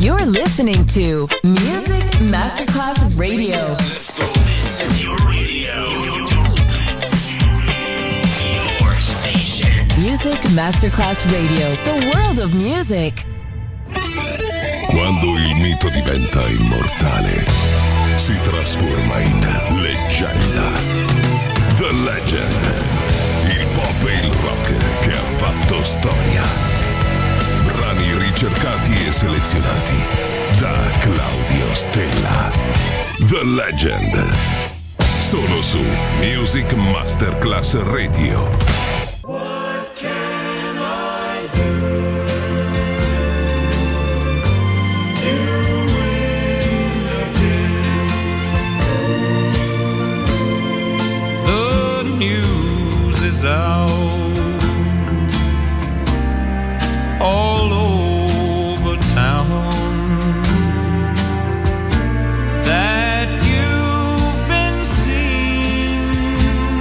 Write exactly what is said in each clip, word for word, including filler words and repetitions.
You're listening to Music Masterclass Radio. Let's go. This is your radio. Your station. Music Masterclass Radio. The world of music. Quando il mito diventa immortale, si trasforma in leggenda. The Legend. Il pop e il rock che ha fatto storia. Brani ricercati e selezionati da Claudio Stella. The Legend. Solo su Music Masterclass Radio. What can I do? Out all over town that you've been seen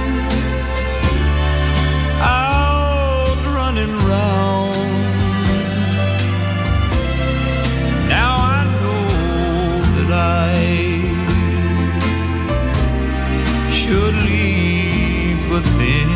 out running round. Now I know that I should leave, but then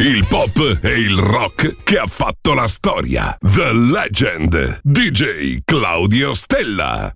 Il pop e il rock che ha fatto la storia. The Legend, D J Claudio Stella.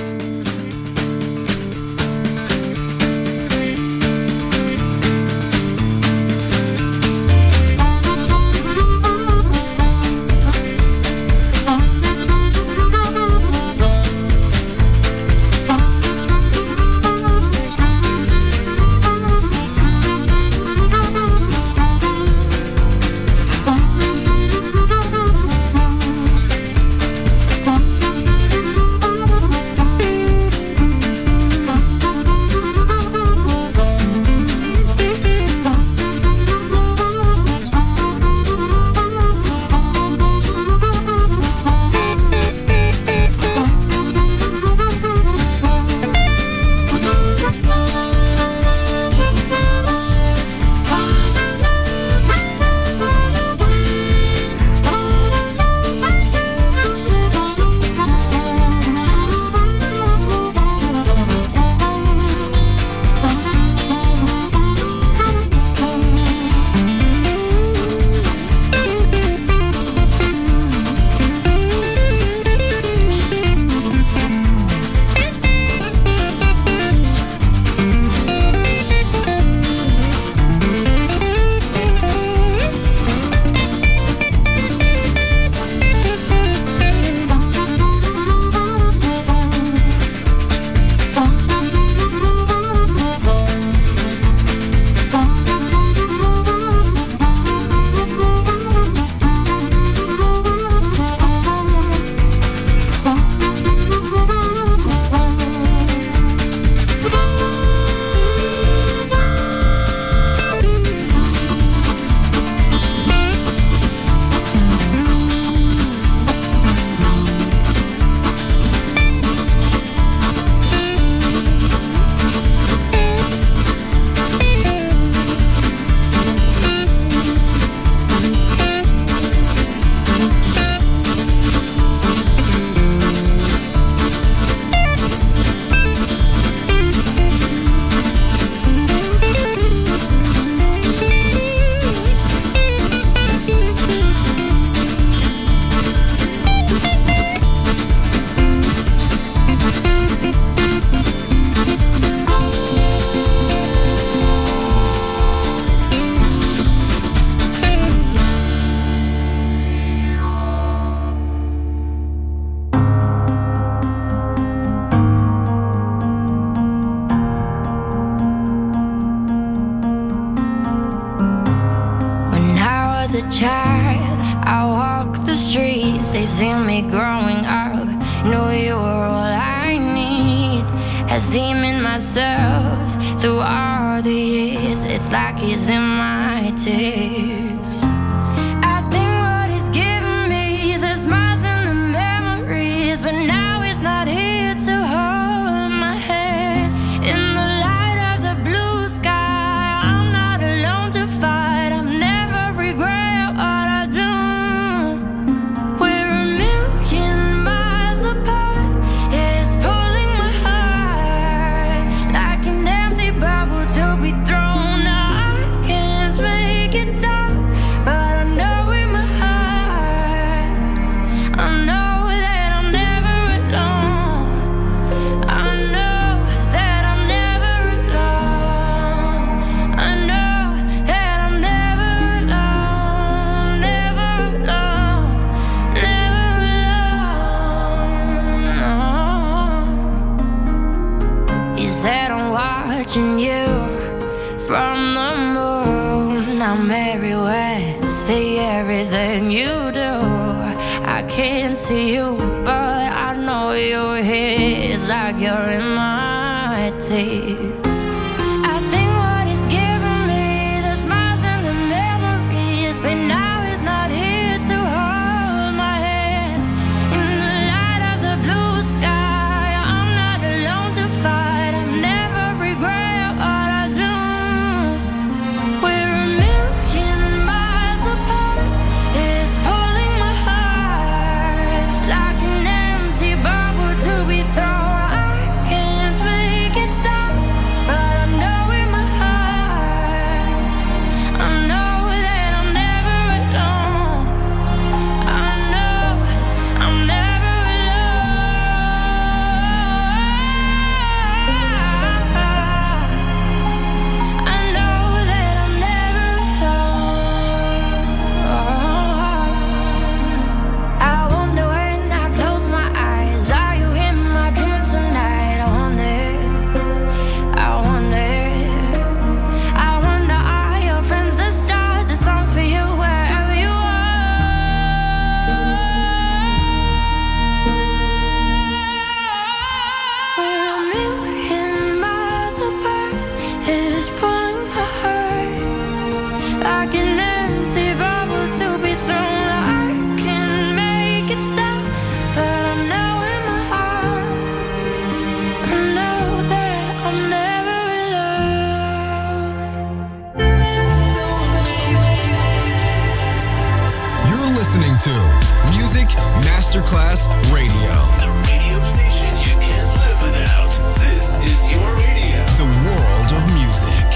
child, I walk the streets, they see me growing up. Know you're all I need. Has seen in myself through all the years. It's like it's in my tears. I think what he's given me, the smiles and the memories, but now he's not here to hold my hand. In the light of the blue sky, I'm not alone to fight. I've never regret what I do. We're a million miles apart. It's pulling my heart like an empty bubble to be thrown out. I can't make it stop, but I know in my heart, I know that I'm never alone. I know that I'm never alone. I know that I'm never alone, never alone, never alone. No. You said I'm watching you from the moon. I'm everywhere, see everything you do. I can't see you, but I know you're here. It's like you're in my tears. I think what he's given me, the smiles and the memories, but now he's not here to hold my hand. In the light of the blue sky, I'm not alone to fight. I've never regret what I do. We're a million miles apart. It's pulling my heart like an empty bubble to be thrown. I can't make it stop, like an empty bubble to be thrown. I can make it stop, but I know in my heart, I know that I'm never alone. You're listening to Music Masterclass Radio. The radio station you can't live without. This is your radio. The world of music.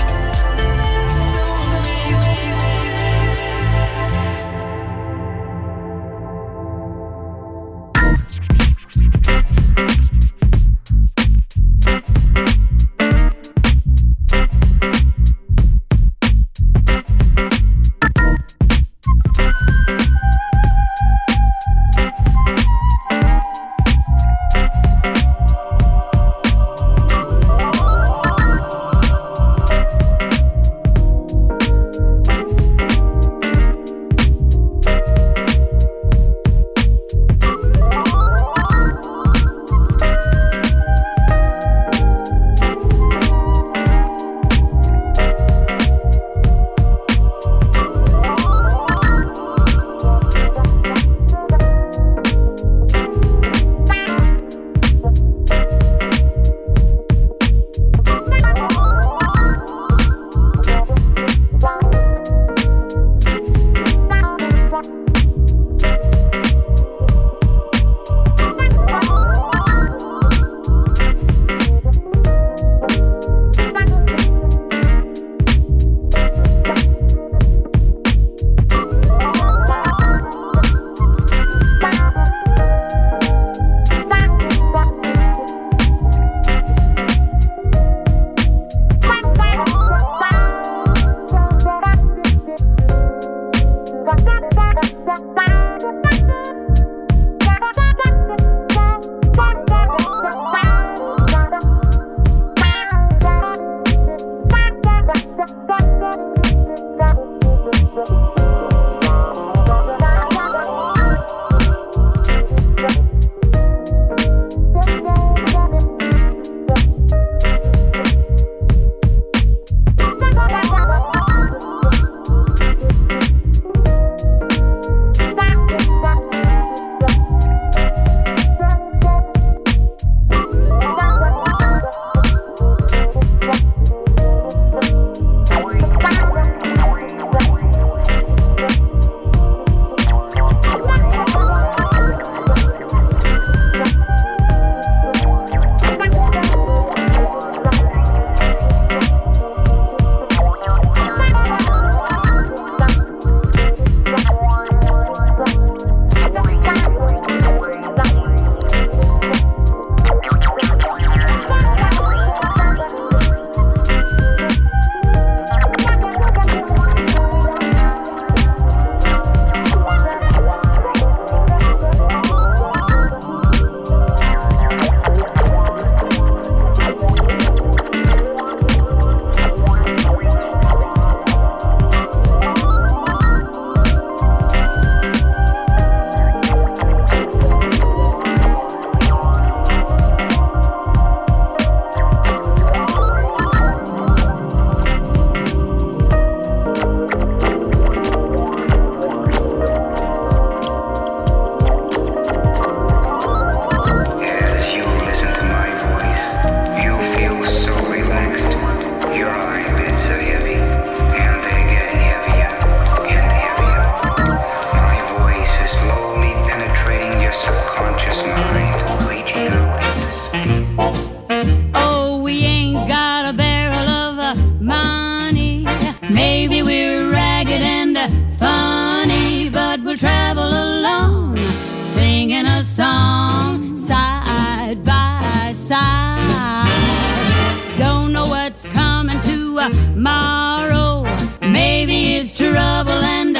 Tomorrow, maybe it's trouble and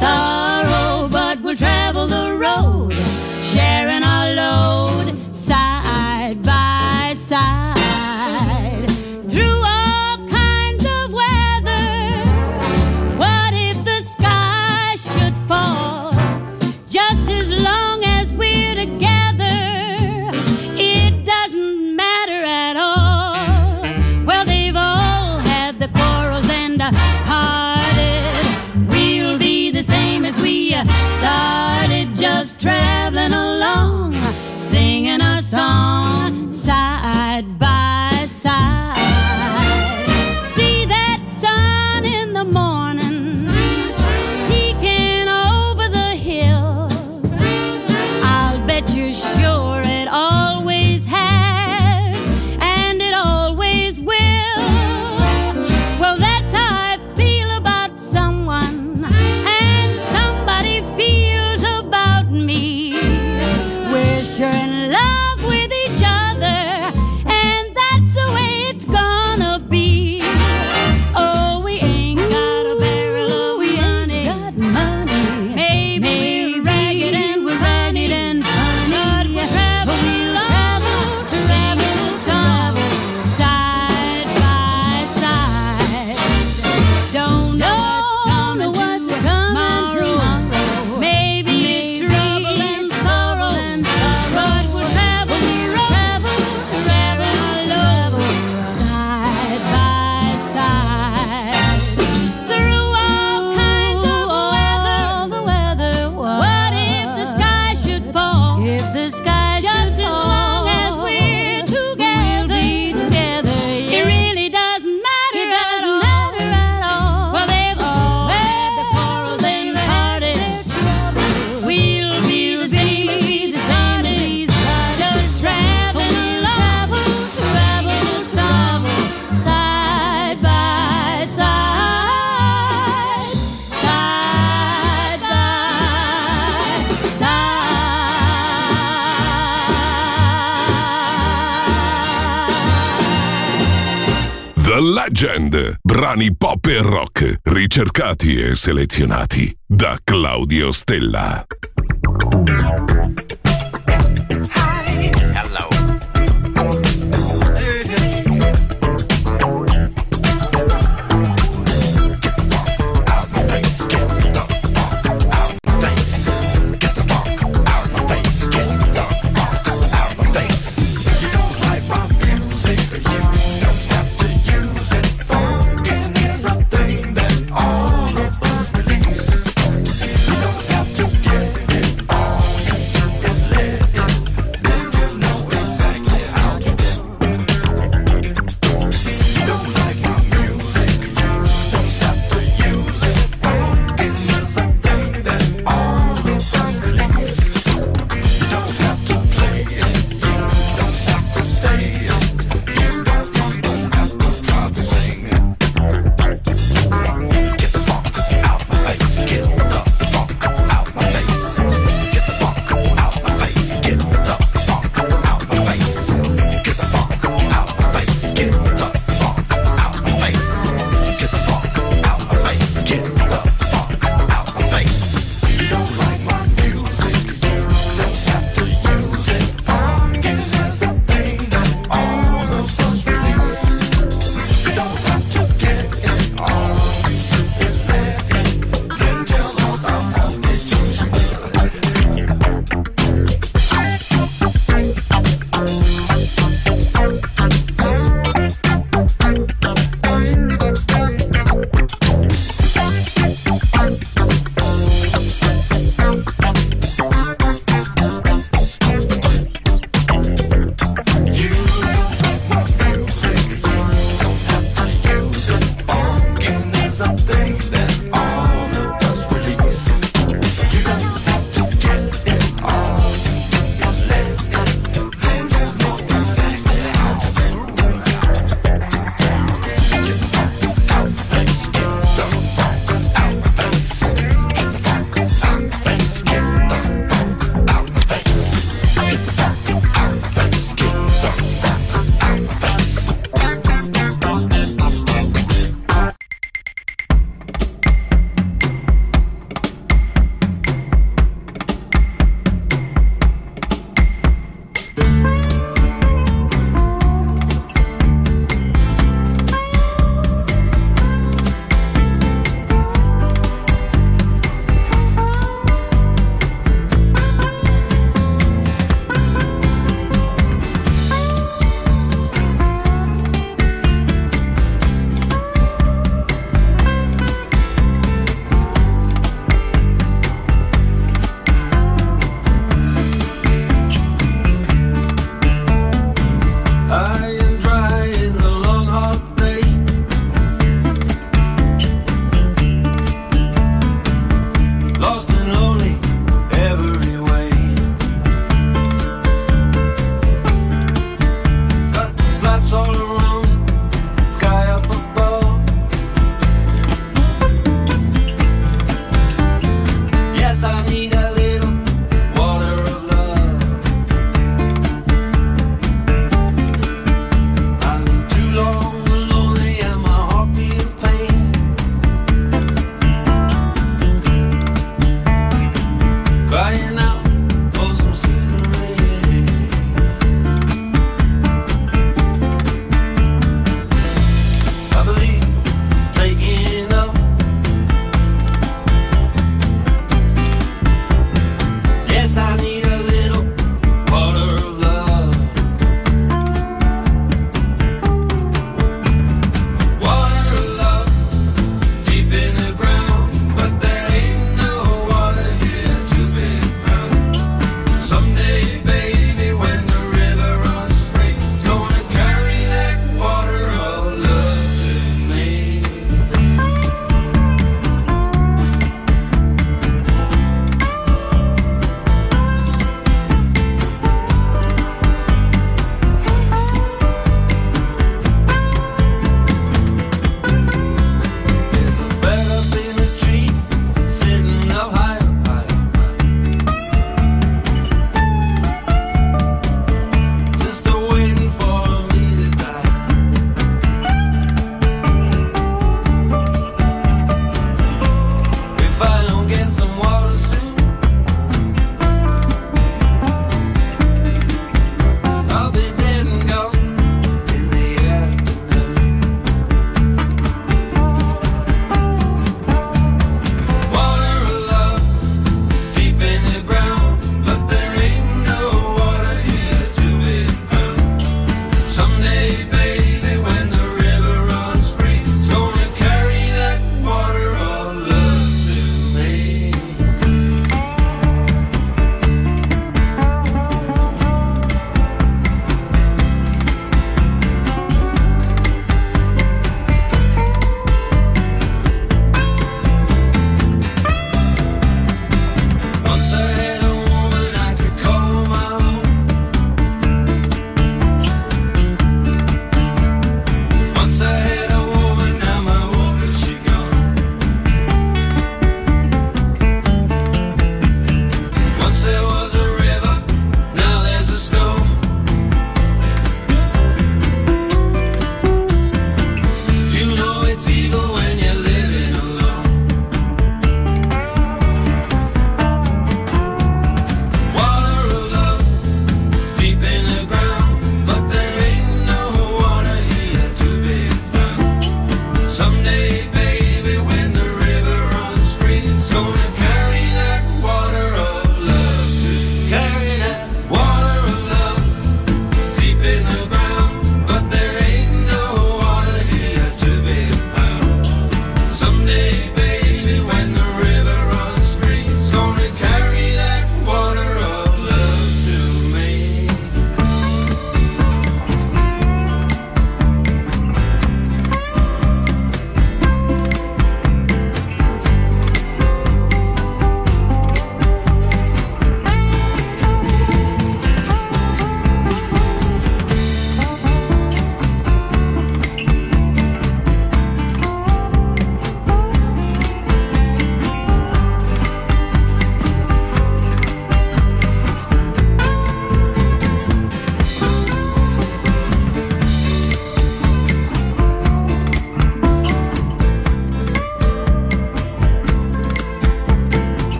sorrow, but we'll travel the road, sharing our load, side by side, through all kinds of weather. What if the sky should fall? Just as long as we're together, it doesn't matter at all. Well, they've all had the quarrels and parted, just traveling along, singing a song side by side. See that sun in the morning peeking over the hill. I'll bet you're sure it always has, and it always will. Well, that's how I feel about someone, and somebody feels about me. We're sure in love with each other, and that's the way it's gonna be. Oh, we ain't got a barrel of money, got money. Maybe we're ragged and we're ragged and funny, but we'll travel, travel, travel, travel, side by side. Don't know what's coming tomorrow. Maybe it's trouble and sorrow, but we'll travel, travel, travel, side by side. Through all kinds of weather, what if the sky should fall? If the sky just as long as we're together, together, it really doesn't matter. It doesn't matter at all. Well, they've all had the quarrels and parted. We'll be the same as we started. Just traveling along, travel, travel, side by side, side by side. The Legend, brani pop e rock, ricercati e selezionati da Claudio Stella. Hello. All of us release. You don't have to get it on.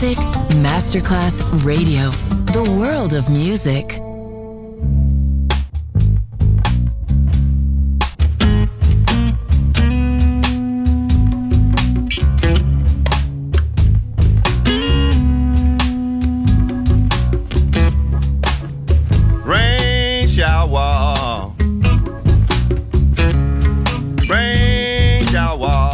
Music Masterclass Radio. The world of music. Rain shower, rain shower.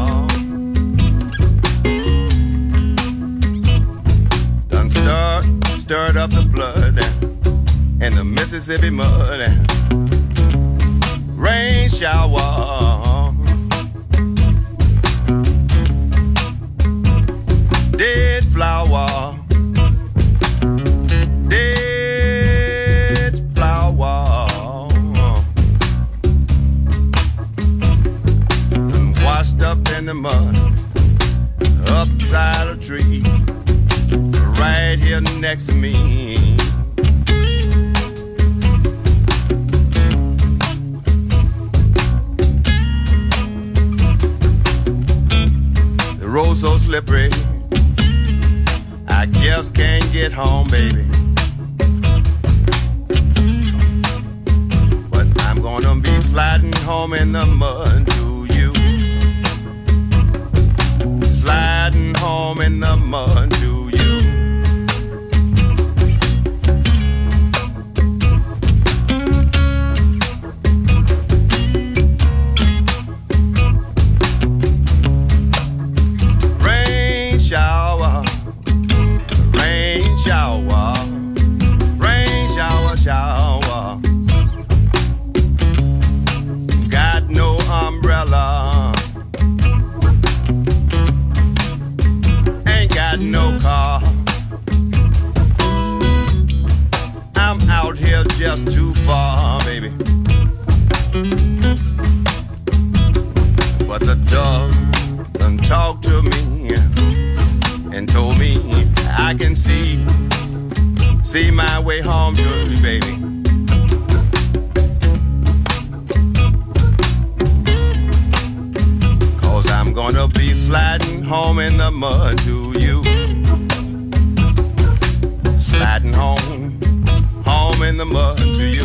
Done stirred, stirred up the blood and the Mississippi mud. Rain shower, dead flower. Up in the mud, upside a tree, right here next to me. The road so slippery, I just can't get home, baby. But I'm gonna be sliding home in the mud to you. Sliding home in the mud to you. Rain shower, rain shower, rain shower, shower. Got no umbrella. Got no car. I'm out here just too far, baby. But the dog done talked to me and told me I can see, see my way home to you, baby. Cause I'm gonna be sliding home in the mud to you. Sliding home, home in the mud to you.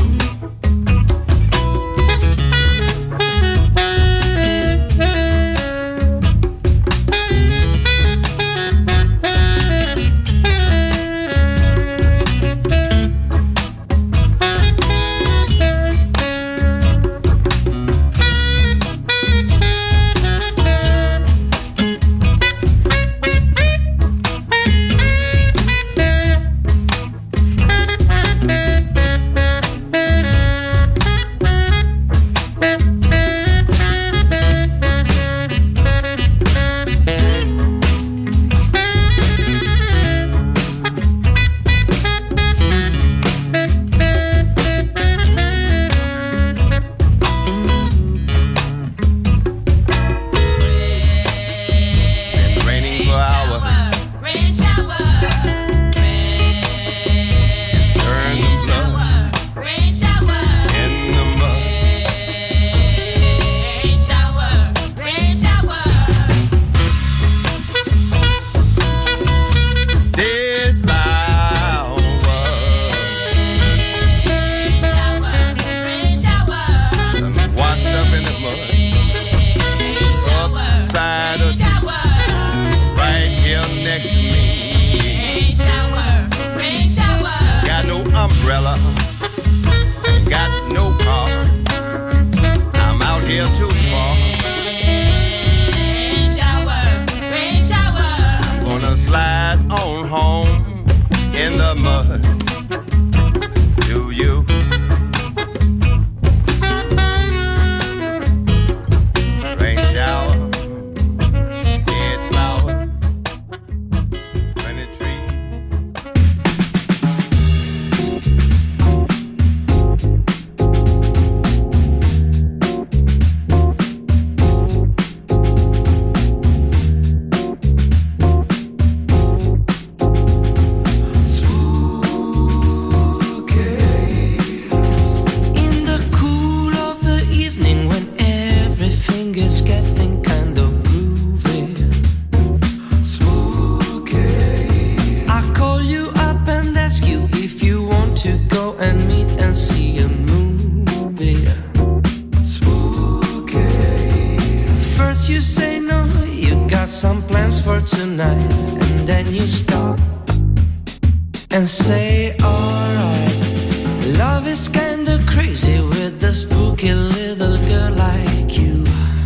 see a movie. Spooky. First you say no, you got some plans for tonight, and then you stop and say alright. Love is kinda crazy with a spooky little girl like you.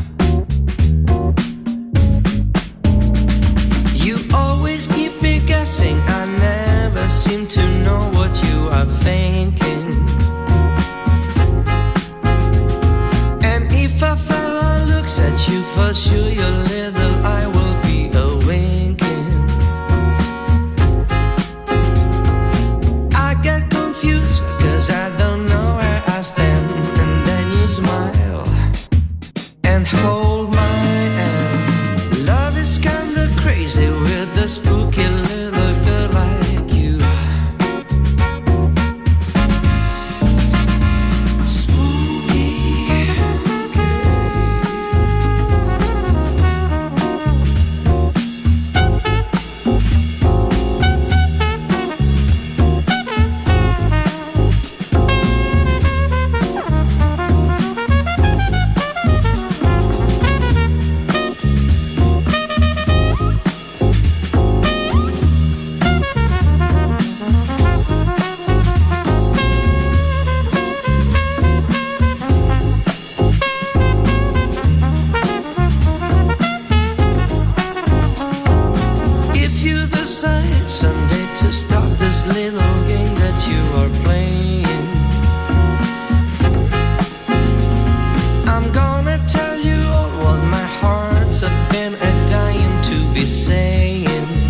You always keep me guessing, I never seem to know what you are thinking. And if a fella looks at you, for sure your little eye will be a winking. I get confused, cause I don't know where I stand. And then you smile and hold my hand. Love is kinda crazy with a spooky little girl like you. If you decide someday to stop this little game that you are playing, I'm gonna tell you all what my heart's been a dying to be saying.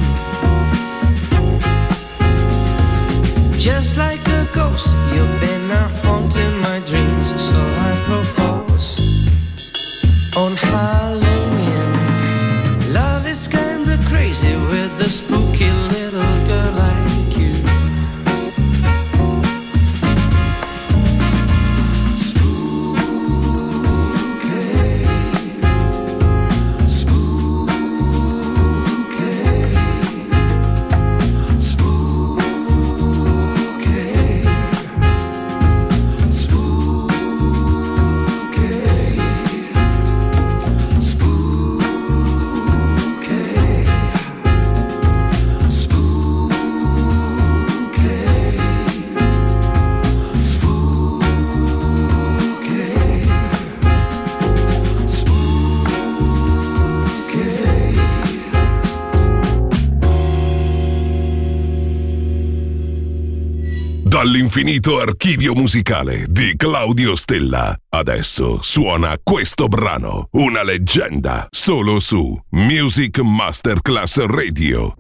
Just like a ghost, you've been a haunting my dreams, so I propose on Halloween. Love is kinda crazy with a spooky little girl like you. Spooky, spooky, spooky, Dall'infinito archivio musicale di Claudio Stella, adesso suona questo brano, una leggenda, solo su Music Masterclass Radio.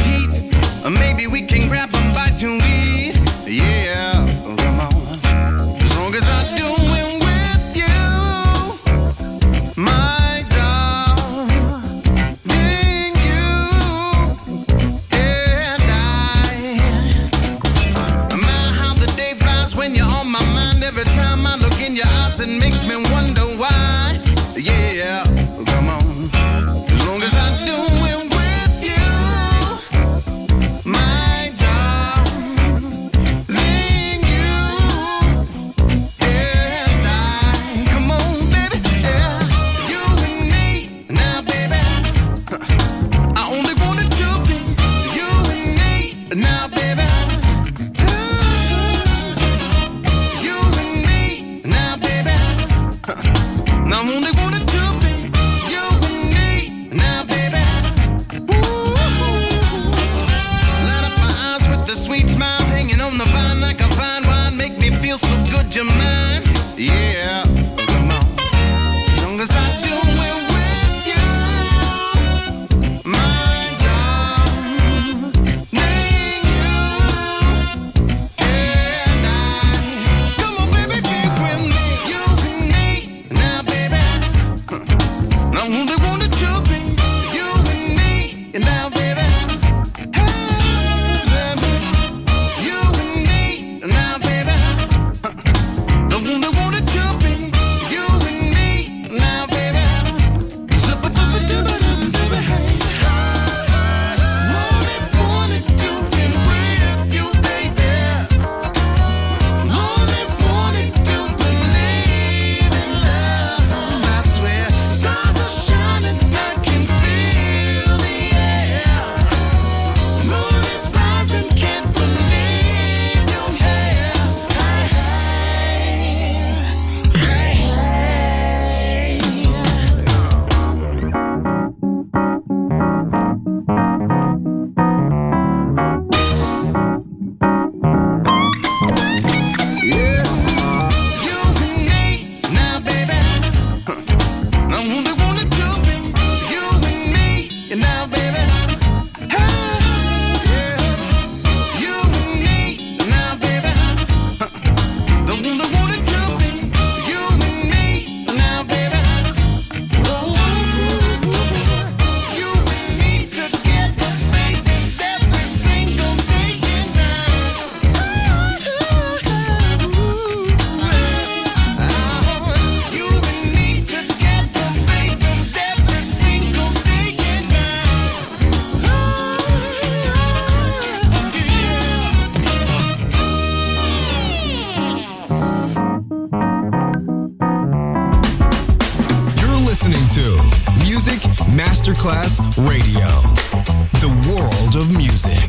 heat. Maybe we can grab a bite to eat. Yeah, come on. As long as I do it with you, my darling, you and I. My, how the day flies when you're on my mind. Every time I look in your eyes, it makes me wonder why. Yeah, come on. As long as I do it with you, my darling, you and I. Come on, baby, yeah. You and me, now, baby. I only wanted to be you and me, now, baby. You and me, now, baby. I only wanted to be you and me, now, baby. Ooh. Light up my eyes with the sweet smile, hanging on the vine like a fine wine. Make me feel so good, you're mine. Yeah, come on. As long as I do it with you, my darling, you and I. Come on, baby, be with me. You and me, now, baby. I only wanted to be you and me, now, baby. Hey, baby. You and me, now, baby. I only wanted to be you and me, now, baby. Zip-a-dip-a-dip-a-dip-a-dip, hey. Wanted, wanted to be with you, baby. Wanted, wanted to believe in love. I swear, stars are shining, I can feel the air. Moon is rising, can't believe you're here. Hey, hey, hey, yeah. You and me, now, baby. I only wanted to be you and me, now, baby. Hey, yeah. You and me, now, baby. I only wanted to be you and me, now, baby. Oh, you and me together, baby, every single day and night. You and me together, baby, every single day and night. You're listening to Music Masterclass Radio, the world of music.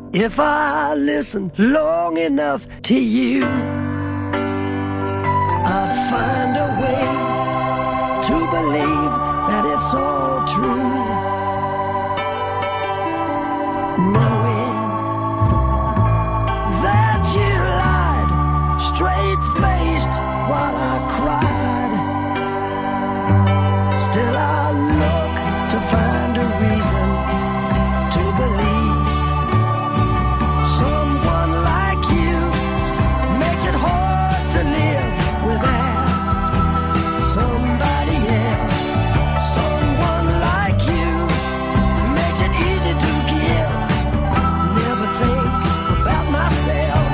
If I listen long enough to you, I'd find a way to believe that it's all true. Knowing that you lied, straight-faced while I cried, still I look to find a reason to believe. Someone like you makes it hard to live without somebody else. Someone like you makes it easy to give. Never think about myself.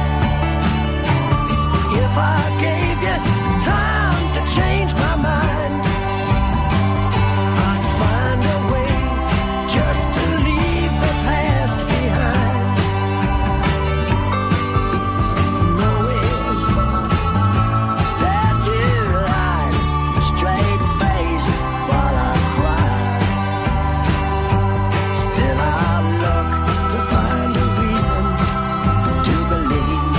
If I gave you time to change my mind, I'd find a way just to leave the past behind. Knowing that you lied, straight-faced while I cried, still I look to find a reason to believe.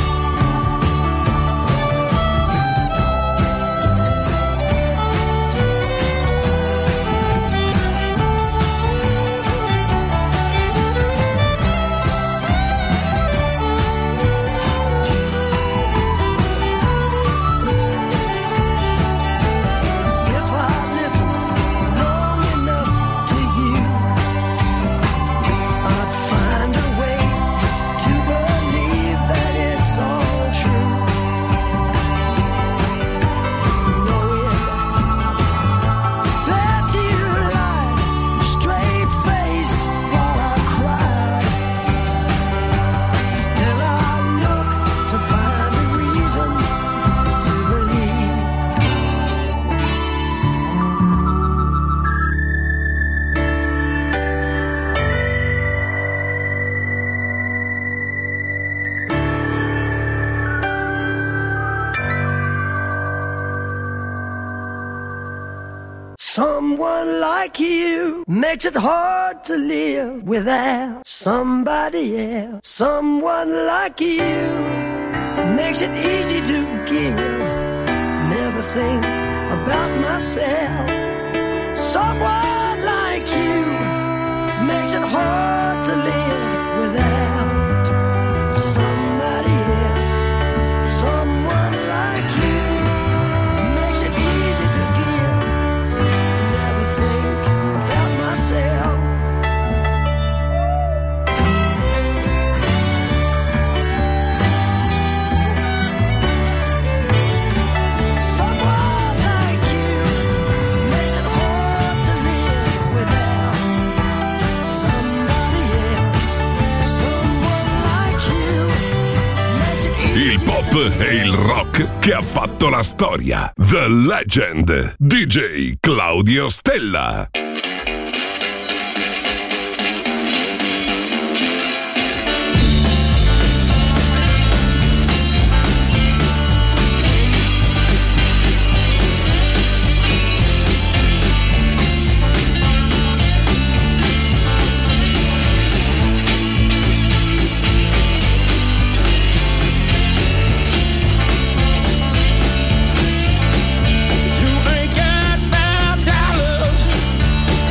If I listen long enough to you, I'd find a way to believe that it's all true. Knowing that you lied, straight-faced while I cried, still I look to find a reason to believe. Someone like you makes it hard to live without somebody else. Someone like you makes it easy to give. Never think about myself. Someone like you makes it hard to live without somebody else. Someone like you makes it easy to give. Never think about myself. Someone like you makes it hard to live without somebody else. Someone like you makes it easy. Il pop e il rock che ha fatto la storia. The Legend. D J Claudio Stella. You ain't got five dollars.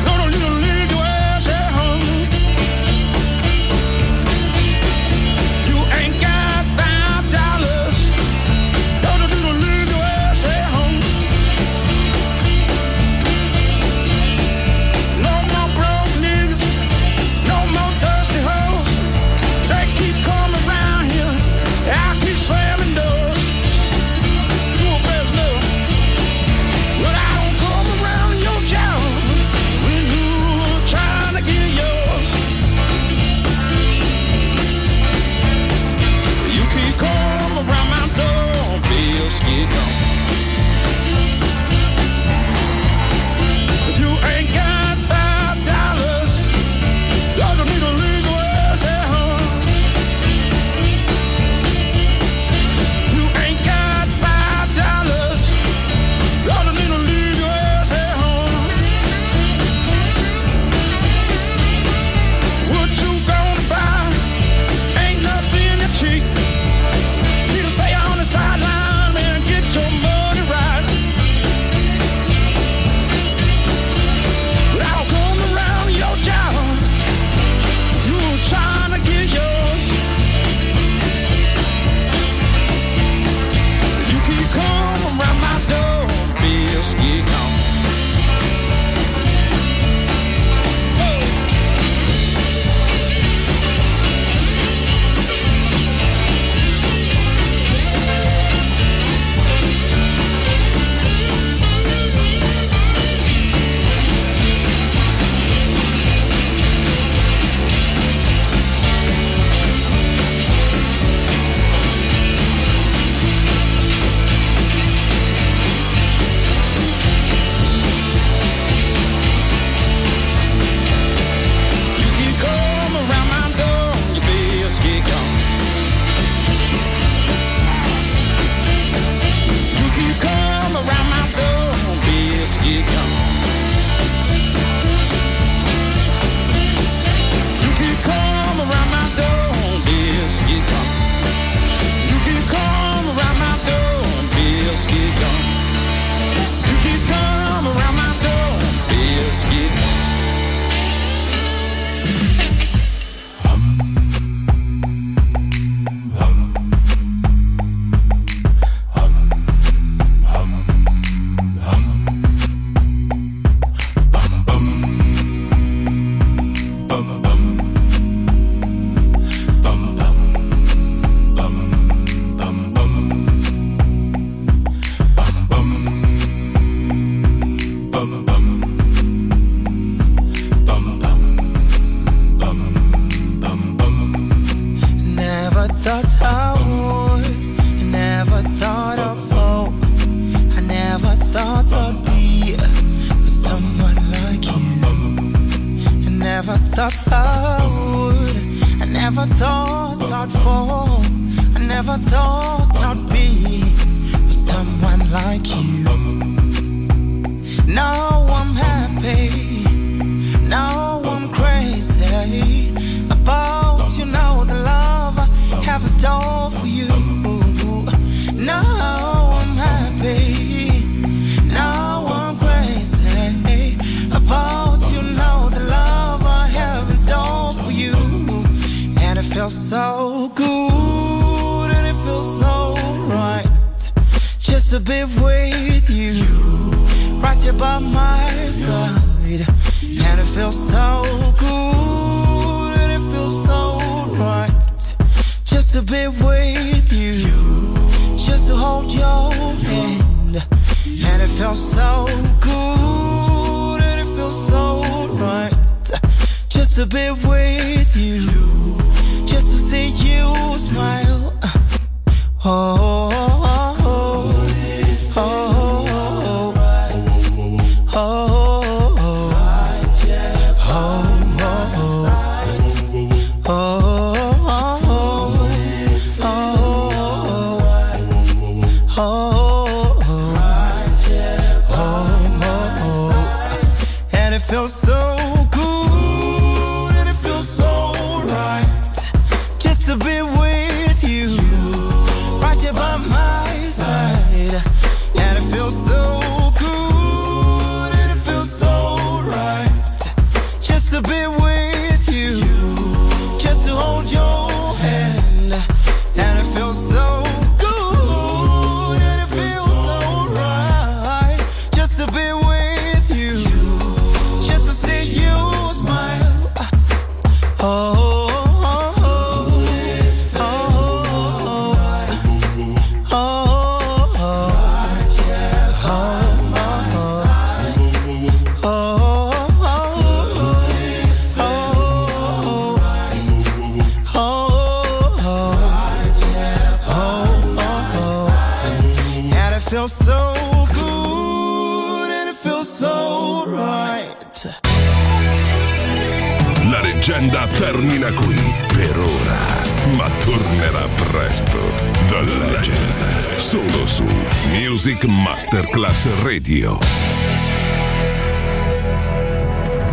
thought I would. I never thought I'd fall. I never thought I'd be with someone like you. Now I'm happy. Now I'm crazy about, you know, the love I have in store for you. Now I'm happy. Now I'm crazy about, you know, the love I have in store for you. And it feels so good, and it feels so right just to be with you, right here by my side. And it feels so good, and it feels so right just to be with you, just to hold your hand. And it feels so good, and it feels so right just to be with you, just to see you smile. Oh, oh, oh, oh, oh, oh, oh, oh. Feels so good, and it feels so right just to be with you, right here by my side. And it feels so good, and it feels so right just to be with you, just to hold your hand. And it feels so good, and it feels so right just to be with you, just to see you smile. Oh, oh, oh, oh, oh, oh, oh, oh, and it feels so good, and it feels so right. La leggenda termina qui per ora, ma tornerà presto. The Legend, solo su Music Masterclass Radio.